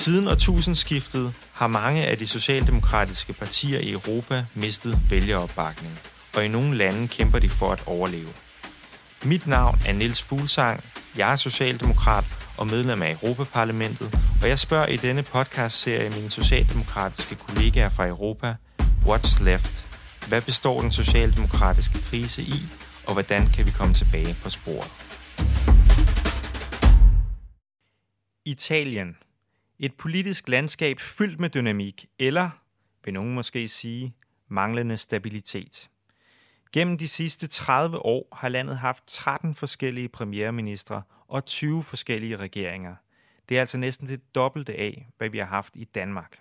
Siden årtusindskiftet har mange af de socialdemokratiske partier i Europa mistet vælgeropbakning, og i nogle lande kæmper de for at overleve. Mit navn er Niels Fuglsang, jeg er socialdemokrat og medlem af Europaparlamentet, og jeg spørger i denne podcastserie mine socialdemokratiske kollegaer fra Europa, What's left? Hvad består den socialdemokratiske krise i, og hvordan kan vi komme tilbage på sporet? Italien. Et politisk landskab fyldt med dynamik, eller, vil nogen måske sige, manglende stabilitet. Gennem de sidste 30 år har landet haft 13 forskellige premierministre og 20 forskellige regeringer. Det er altså næsten det dobbelte af, hvad vi har haft i Danmark.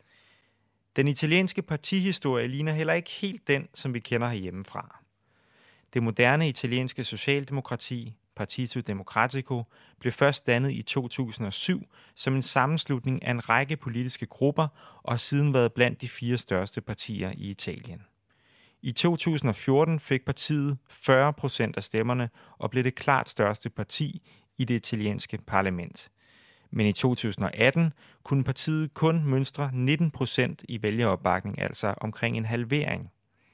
Den italienske partihistorie ligner heller ikke helt den, som vi kender herhjemmefra. Det moderne italienske socialdemokrati, Partito Democratico, blev først dannet i 2007 som en sammenslutning af en række politiske grupper og har siden været blandt de 4 største partier i Italien. I 2014 fik partiet 40% af stemmerne og blev det klart største parti i det italienske parlament. Men i 2018 kunne partiet kun mønstre 19% i vælgeropbakning, altså omkring en halvering.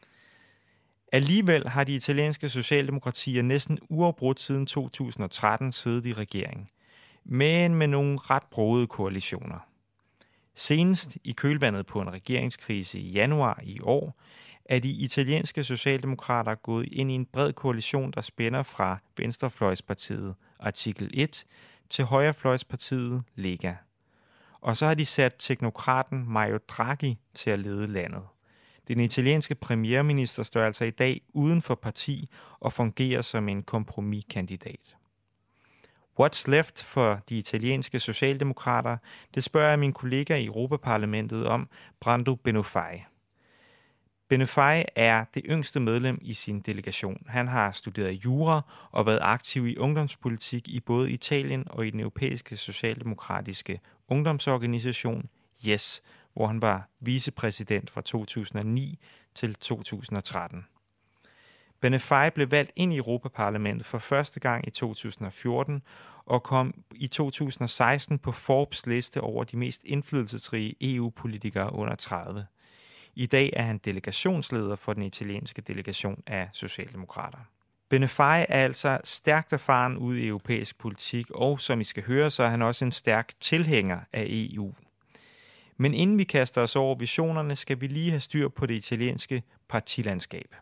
Alligevel har de italienske socialdemokratier næsten uafbrudt siden 2013 siddet i regering, men med nogle ret brogede koalitioner. Senest i kølvandet på en regeringskrise i januar i år, er de italienske socialdemokrater gået ind i en bred koalition, der spænder fra venstrefløjspartiet Artikel 1 til højrefløjspartiet Lega. Og så har de sat teknokraten Mario Draghi til at lede landet. Den italienske premierminister står altså i dag uden for parti og fungerer som en kompromiskandidat. What's left for de italienske socialdemokrater? Det spørger jeg min kollega i Europaparlamentet om, Brando Benifei. Benifei er det yngste medlem i sin delegation. Han har studeret jura og været aktiv i ungdomspolitik i både Italien og i den europæiske socialdemokratiske ungdomsorganisation YES, hvor han var vicepræsident fra 2009 til 2013. Benifei blev valgt ind i Europaparlamentet for første gang i 2014 og kom i 2016 på Forbes liste over de mest indflydelsesrige EU-politikere under 30. I dag er han delegationsleder for den italienske delegation af socialdemokrater. Benifei er altså stærkt erfaren ude i europæisk politik, og som I skal høre, så er han også en stærk tilhænger af EU. Men inden vi kaster os over visionerne, skal vi lige have styr på det italienske partilandskab.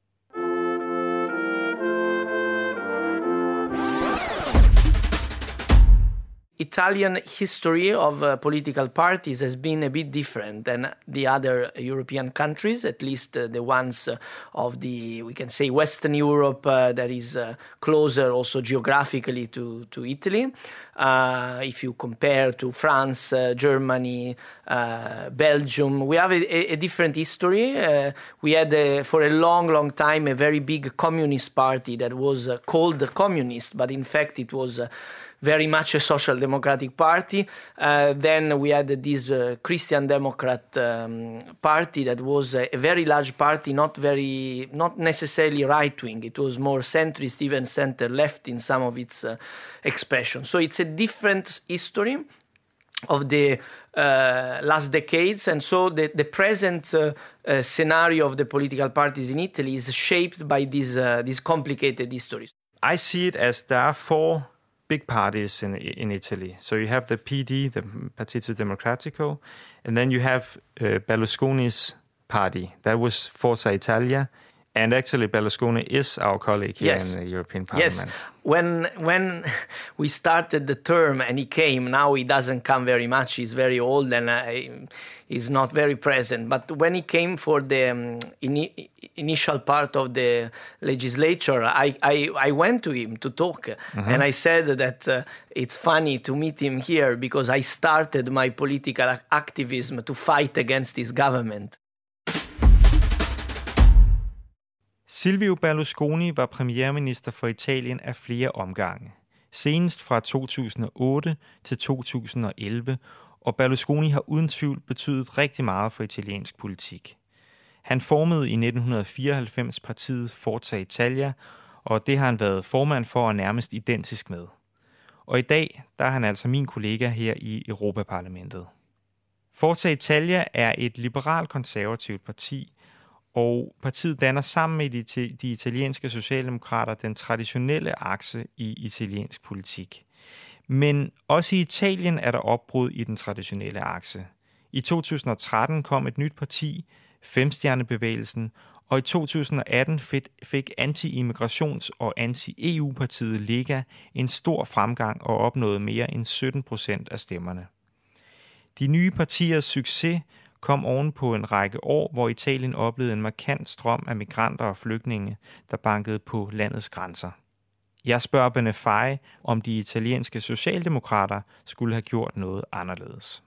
Italian history of political parties has been a bit different than the other European countries, at least the ones of the, we can say, Western Europe that is closer also geographically to Italy. If you compare to France, Germany, Belgium, we have a different history. We had for a long time a very big communist party that was called the Communist, but in fact it was very much a social democratic party. Then we had this Christian Democrat party that was a very large party, not necessarily right-wing. It was more centrist, even center-left in some of its expressions. So it's a different history of the last decades, and so the present scenario of the political parties in Italy is shaped by these complicated histories. I see it as there are 4 big parties in Italy. So you have the PD, the Partito Democratico, and then you have Berlusconi's party. That was Forza Italia. And actually Berlusconi is our colleague here in the European Parliament. Yes. When we started the term and he came, now he doesn't come very much. He's very old and he's not very present. But when he came for the initial part of the legislature, I went to him to talk. And I said that it's funny to meet him here because I started my political activism to fight against his government. Silvio Berlusconi var premierminister for Italien af flere omgange. Senest fra 2008 til 2011, og Berlusconi har uden tvivl betydet rigtig meget for italiensk politik. Han formede i 1994 partiet Forza Italia, og det har han været formand for og nærmest identisk med. og i dag der er han altså min kollega her i Europaparlamentet. Forza Italia er et liberal-konservativt parti, og partiet danner sammen med de italienske socialdemokrater den traditionelle akse i italiensk politik. Men også i Italien er der opbrud i den traditionelle akse. I 2013 kom et nyt parti, Femstjernebevægelsen, og i 2018 fik anti-immigrations- og anti-EU-partiet Lega en stor fremgang og opnåede mere end 17% af stemmerne. De nye partiers succes kom oven på en række år, hvor Italien oplevede en markant strøm af migranter og flygtninge, der bankede på landets grænser. Jeg spørger Benefei, om de italienske socialdemokrater skulle have gjort noget anderledes.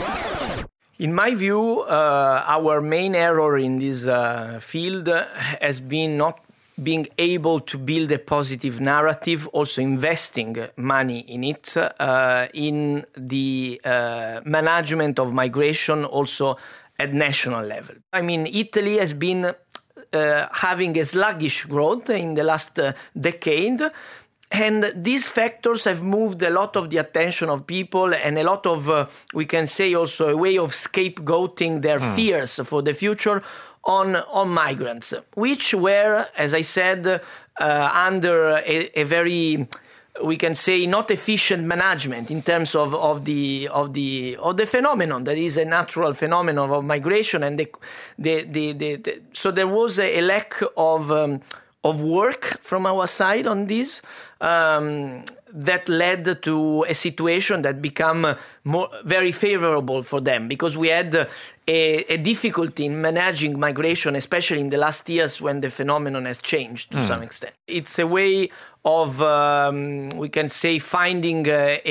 In my view, our main error in this field has been not being able to build a positive narrative, also investing money in it, in the management of migration, also at national level. I mean, Italy has been having a sluggish growth in the last decade, and these factors have moved a lot of the attention of people and a lot of, we can say also a way of scapegoating their fears for the future on migrants, which were, as I said, under a very, we can say, not efficient management in terms of the phenomenon that is a natural phenomenon of migration, and so there was a lack of work from our side on this. That led to a situation that became very favorable for them, because we had a difficulty in managing migration, especially in the last years when the phenomenon has changed to some extent. It's a way of, we can say, finding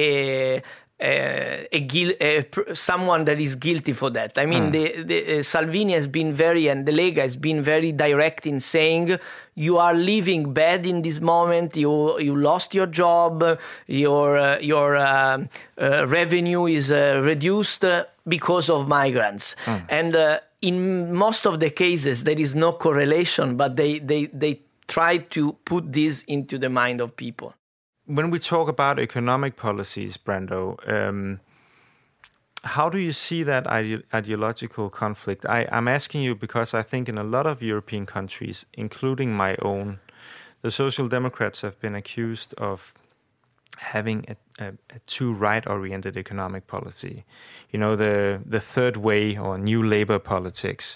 someone that is guilty for that. I mean, the Salvini has been and the Lega has been very direct in saying, you are living bad in this moment, you lost your job, your revenue is reduced because of migrants. And in most of the cases, there is no correlation, but they try to put this into the mind of people. When we talk about economic policies, Brando, how do you see that ideological conflict? I'm asking you because I think in a lot of European countries, including my own, the Social Democrats have been accused of having a too right-oriented economic policy. You know, the third way or new labor politics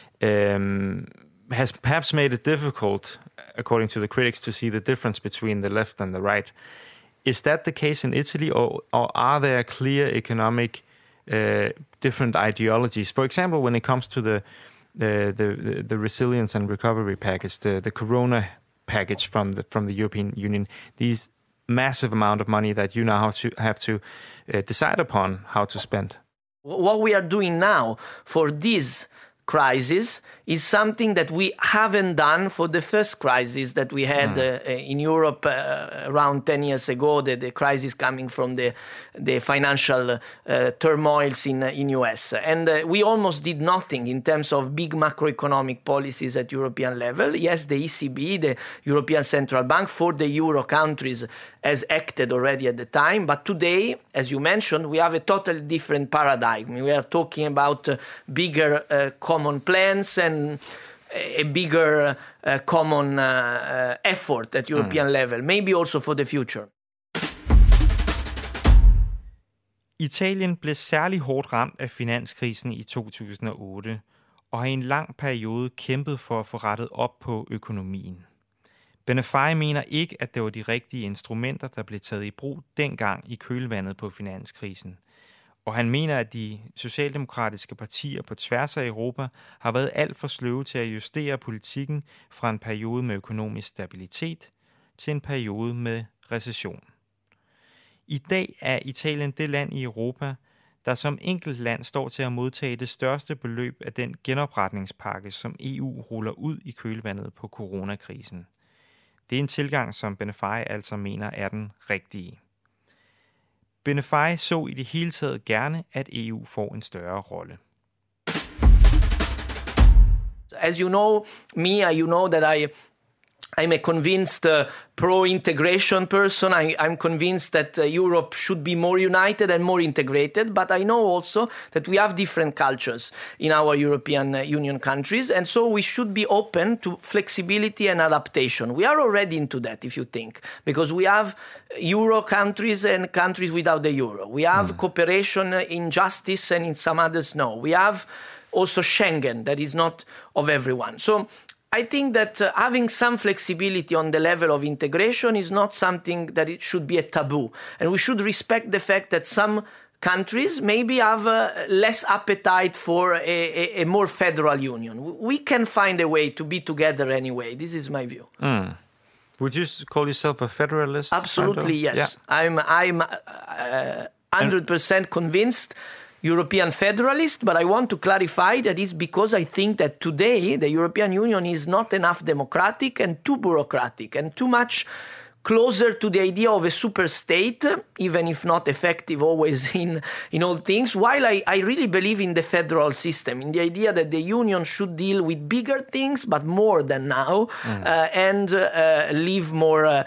has perhaps made it difficult, according to the critics, to see the difference between the left and the right. Is that the case in Italy, or are there clear economic different ideologies? For example, when it comes to the resilience and recovery package, the Corona package from the European Union, these massive amount of money that you now have to decide upon how to spend. What we are doing now for this crisis is something that we haven't done for the first crisis that we had in Europe around 10 years ago, the crisis coming from the financial turmoils in US. And we almost did nothing in terms of big macroeconomic policies at European level. Yes, the ECB, the European Central Bank, for the Euro countries has acted already at the time. But today, as you mentioned, we have a totally different paradigm. We are talking about bigger common plans and a bigger common effort at European level, maybe also for the future. Italien blev særlig hårdt ramt af finanskrisen i 2008 og har i en lang periode kæmpet for at få rettet op på økonomien. Benefei mener ikke, at det var de rigtige instrumenter, der blev taget i brug dengang i kølvandet på finanskrisen. Og han mener, at de socialdemokratiske partier på tværs af Europa har været alt for sløve til at justere politikken fra en periode med økonomisk stabilitet til en periode med recession. I dag er Italien det land i Europa, der som enkelt land står til at modtage det største beløb af den genopretningspakke, som EU ruller ud i kølvandet på coronakrisen. Det er en tilgang, som Benefei altså mener er den rigtige. Benefei så i det hele taget gerne, at EU får en større rolle. As you know me, you know that I I'm a convinced pro-integration person. I'm convinced that Europe should be more united and more integrated. But I know also that we have different cultures in our European Union countries. And so we should be open to flexibility and adaptation. We are already into that, if you think, because we have Euro countries and countries without the Euro. We have cooperation in justice and in some others, no. We have also Schengen that is not of everyone. So I think that having some flexibility on the level of integration is not something that it should be a taboo. And we should respect the fact that some countries maybe have less appetite for a more federal union. We can find a way to be together anyway. This is my view. Would you call yourself a federalist? Absolutely, yes. Yeah. I'm 100% convinced European federalist, but I want to clarify that is because I think that today the European Union is not enough democratic and too bureaucratic and too much closer to the idea of a super state, even if not effective always in all things, while I really believe in the federal system, in the idea that the union should deal with bigger things, but more than now, and leave more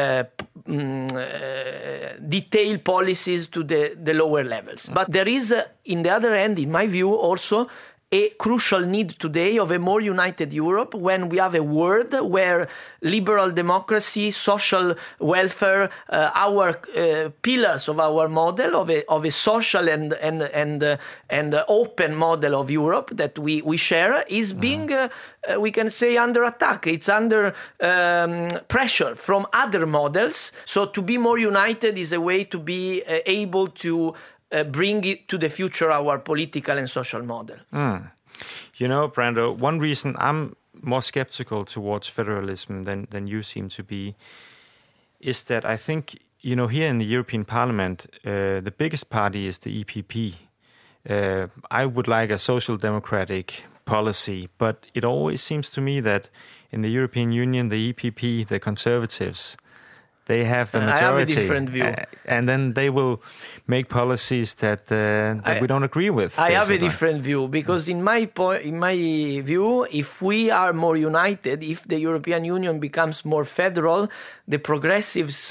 detailed policies to the lower levels. But there is, in the other hand, in my view, also a crucial need today of a more united Europe when we have a world where liberal democracy, social welfare, our pillars of our model of a social and open model of Europe that we share is being, we can say, under attack. It's under pressure from other models. So to be more united is a way to be able to bring it to the future our political and social model. You know, Brando, one reason I'm more skeptical towards federalism than you seem to be is that I think, you know, here in the European Parliament, the biggest party is the EPP. I would like a social democratic policy, but it always seems to me that in the European Union, the EPP, the Conservatives, they have the majority. I have a different view. And then they will make policies that we don't agree with. I have a different view because in my view, if we are more united, if the European Union becomes more federal, the progressives'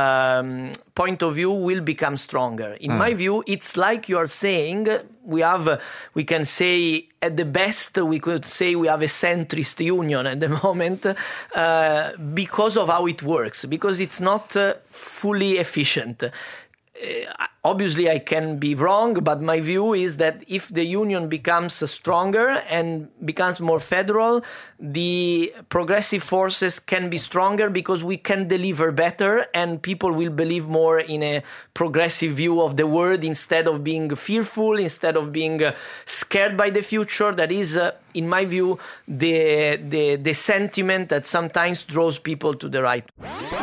point of view will become stronger. In my view, it's like you are saying, we can say at the best, we could say we have a centrist union at the moment because of how it works, because it's not fully efficient. Obviously, I can be wrong, but my view is that if the union becomes stronger and becomes more federal, the progressive forces can be stronger because we can deliver better and people will believe more in a progressive view of the world instead of being fearful, instead of being scared by the future. That is, in my view, the sentiment that sometimes draws people to the right.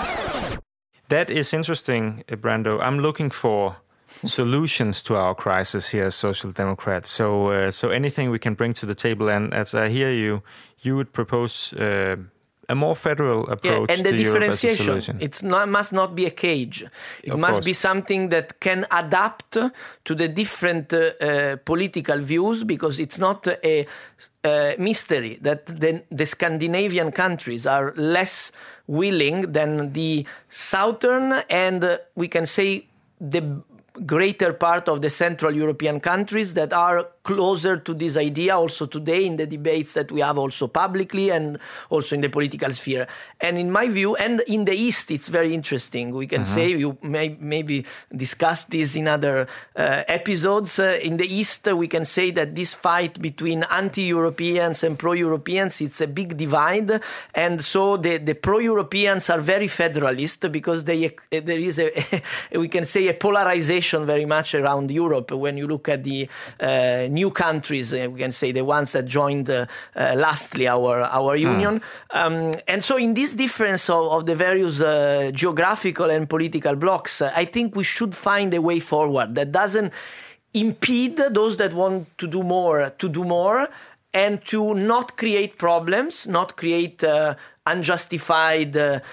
That is interesting, Brando. I'm looking for solutions to our crisis here as Social Democrats. So anything we can bring to the table. And as I hear you, you would propose a more federal approach and the to differentiation. Europe as a solution. It must not be a cage. It must be something that can adapt to the different political views, because it's not a mystery that the Scandinavian countries are less willing than the southern and we can say the greater part of the Central European countries that are closer to this idea also today in the debates that we have also publicly and also in the political sphere. And in my view, and in the East, it's very interesting. We can say, you maybe discuss this in other episodes. In the East, we can say that this fight between anti-Europeans and pro-Europeans, it's a big divide. And so the pro-Europeans are very federalist because there is we can say a polarization very much around Europe. When you look at the new countries, we can say the ones that joined lastly our union. And so in this difference of the various geographical and political blocks, I think we should find a way forward that doesn't impede those that want to do more, and to not create problems, not create unjustified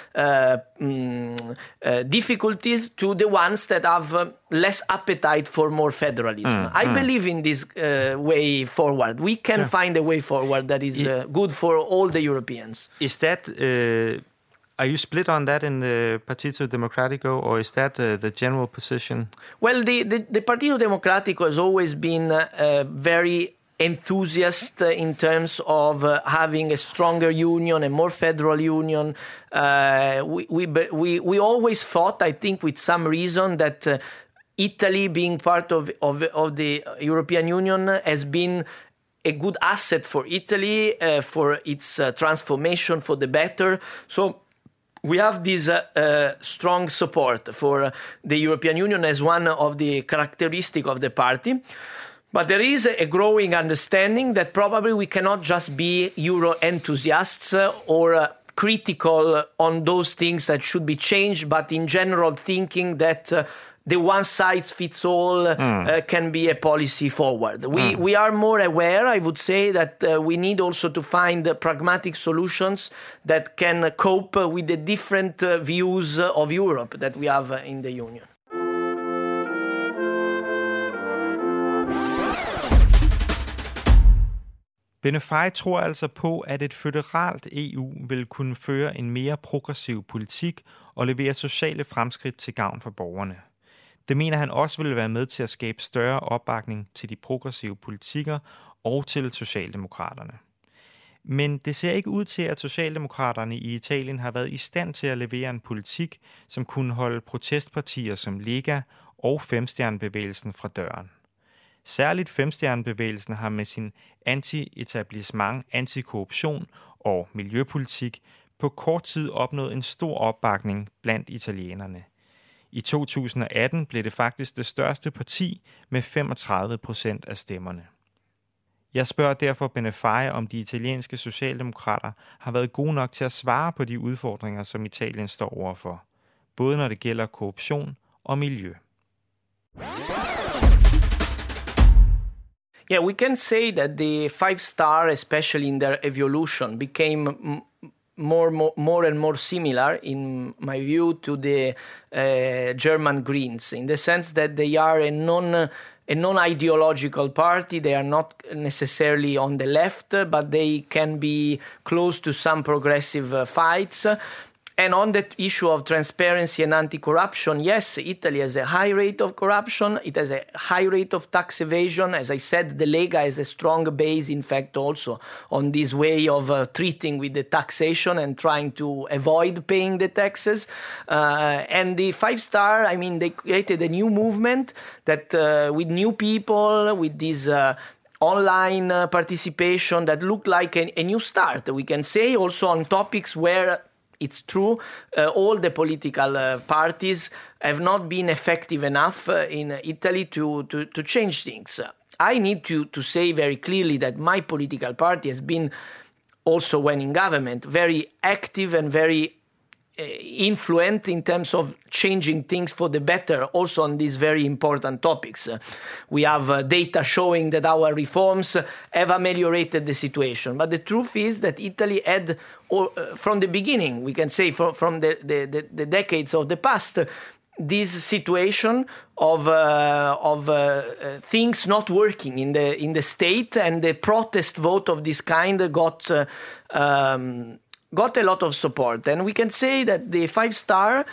difficulties to the ones that have less appetite for more federalism. I believe in this way forward. We can find a way forward that is good for all the Europeans. Is that... Are you split on that in the Partito Democratico, or is that the general position? Well, the Partito Democratico has always been very enthusiast in terms of having a stronger union, a more federal union. We always thought, I think with some reason, that Italy being part of the European Union has been a good asset for Italy, for its transformation for the better. So we have this strong support for the European Union as one of the characteristics of the party. But there is a growing understanding that probably we cannot just be Euro enthusiasts or critical on those things that should be changed, but in general thinking that the one-size-fits-all can be a policy forward. We are more aware, I would say, that we need also to find pragmatic solutions that can cope with the different views of Europe that we have in the Union. Benefei tror altså på, at et føderalt EU vil kunne føre en mere progressiv politik og levere sociale fremskridt til gavn for borgerne. Det mener han også vil være med til at skabe større opbakning til de progressive politikker og til Socialdemokraterne. Men det ser ikke ud til, at Socialdemokraterne i Italien har været i stand til at levere en politik, som kunne holde protestpartier som Lega og Femstjernebevægelsen fra døren. Særligt Femstjernebevægelsen har med sin anti-etablissement, antikorruption og miljøpolitik på kort tid opnået en stor opbakning blandt italienerne. I 2018 blev det faktisk det største parti med 35% af stemmerne. Jeg spørger derfor Benefei, om de italienske socialdemokrater har været gode nok til at svare på de udfordringer, som Italien står overfor, både når det gælder korruption og miljø. Yeah, we can say that the Five Star, especially in their evolution, became more and more similar, in my view, to the German Greens, in the sense that they are a non-ideological party. They are not necessarily on the left, but they can be close to some progressive fights. And on the issue of transparency and anti-corruption, yes, Italy has a high rate of corruption. It has a high rate of tax evasion. As I said, the Lega has a strong base, in fact, also on this way of treating with the taxation and trying to avoid paying the taxes. And the Five Star, I mean, they created a new movement that with new people, with this online participation that looked like a new start, we can say, also on topics where it's true, all the political parties have not been effective enough in Italy to change things. I need to say very clearly that my political party has been, also when in government, very active and very influent in terms of changing things for the better, also on these very important topics. We have data showing that our reforms have ameliorated the situation. But the truth is that Italy had, from the beginning, we can say from the decades of the past, this situation of things not working in the state, and the protest vote of this kind got a lot of support. And we can say that the Five Star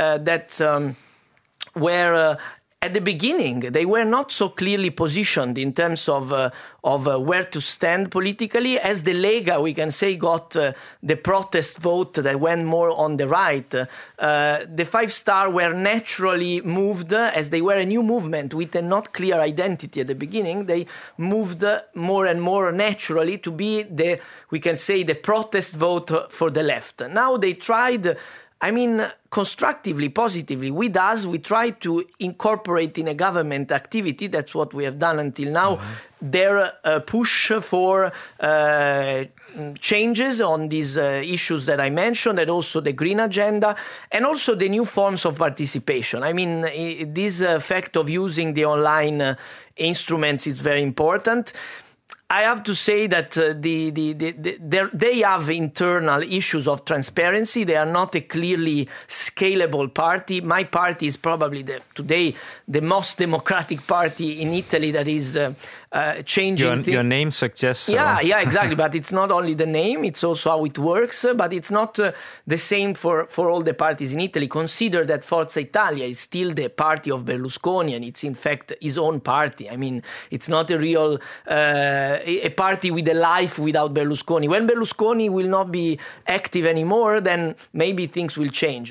were at the beginning, they were not so clearly positioned in terms of where to stand politically. As the Lega, we can say, got the protest vote that went more on the right. The Five Star were naturally moved, as they were a new movement with a not clear identity at the beginning. They moved more and more naturally to be we can say, the protest vote for the left. Now they tried, I mean, constructively, positively, with us, we try to incorporate in a government activity, that's what we have done until now, their push for changes on these issues that I mentioned, and also the green agenda, and also the new forms of participation. I mean, this fact of using the online instruments is very important. I have to say that they have internal issues of transparency. They are not a clearly scalable party. My party is probably today the most democratic party in Italy that is changing. Your name suggests so. Yeah, exactly. But it's not only the name, it's also how it works. But it's not the same for all the parties in Italy. Consider that Forza Italia is still the party of Berlusconi, and it's in fact his own party. I mean, it's not a real a party with a life without Berlusconi. When Berlusconi will not be active anymore, then maybe things will change.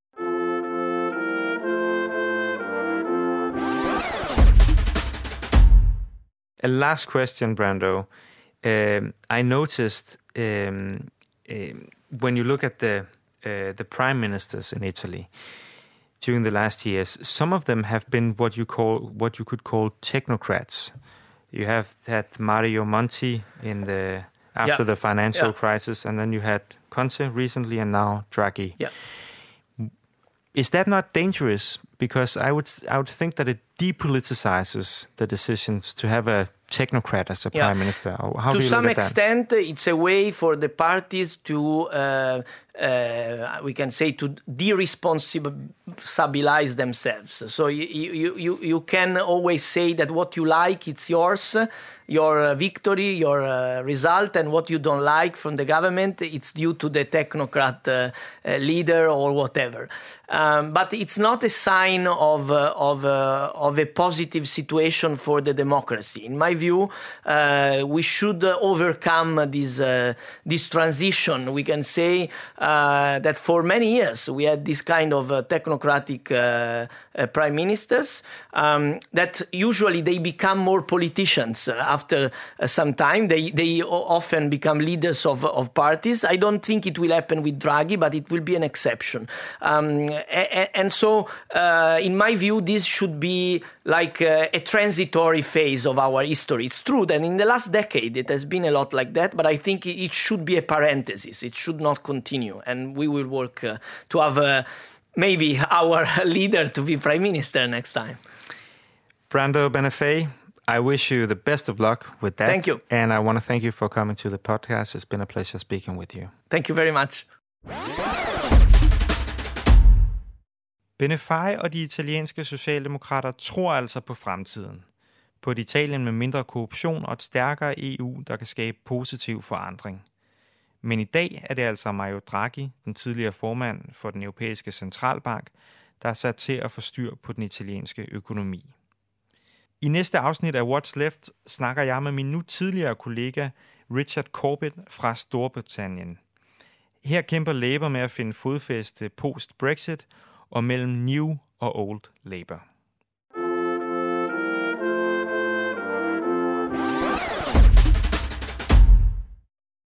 A last question, Brando. I noticed when you look at the prime ministers in Italy during the last years, some of them have been what you could call technocrats. You have had Mario Monti after the financial crisis, and then you had Conte recently, and now Draghi. Yeah. Is that not dangerous? Because I would think that it depoliticizes the decisions to have a technocrat as a prime minister. How to do you some look at extent, it's a way for the parties to, we can say, to de-responsabilize themselves. So you can always say that what you like, it's yours, your victory, your result, and what you don't like from the government, it's due to the technocrat leader or whatever. But it's not a sign of a positive situation for the democracy. In my view, we should overcome this transition. We can say that for many years we had this kind of technocratic prime ministers that usually they become more politicians after some time. They often become leaders of parties. I don't think it will happen with Draghi, but it will be an exception. And so, in my view, this should be like a transitory phase of our history. It's true that in the last decade it has been a lot like that, but I think it should be a parenthesis. It should not continue, and we will work to have maybe our leader to be prime minister next time. Brando Benifei, I wish you the best of luck with that. Thank you. And I want to thank you for coming to the podcast. It's been a pleasure speaking with you. Thank you very much. Benifei og de italienske socialdemokrater tror altså på fremtiden. På et Italien med mindre korruption og et stærkere EU, der kan skabe positiv forandring. Men i dag er det altså Mario Draghi, den tidligere formand for den europæiske centralbank, der er sat til at få styr på den italienske økonomi. I næste afsnit af What's Left snakker jeg med min nu tidligere kollega Richard Corbett fra Storbritannien. Her kæmper Labour med at finde fodfæste post-Brexit og mellem New og Old Labour.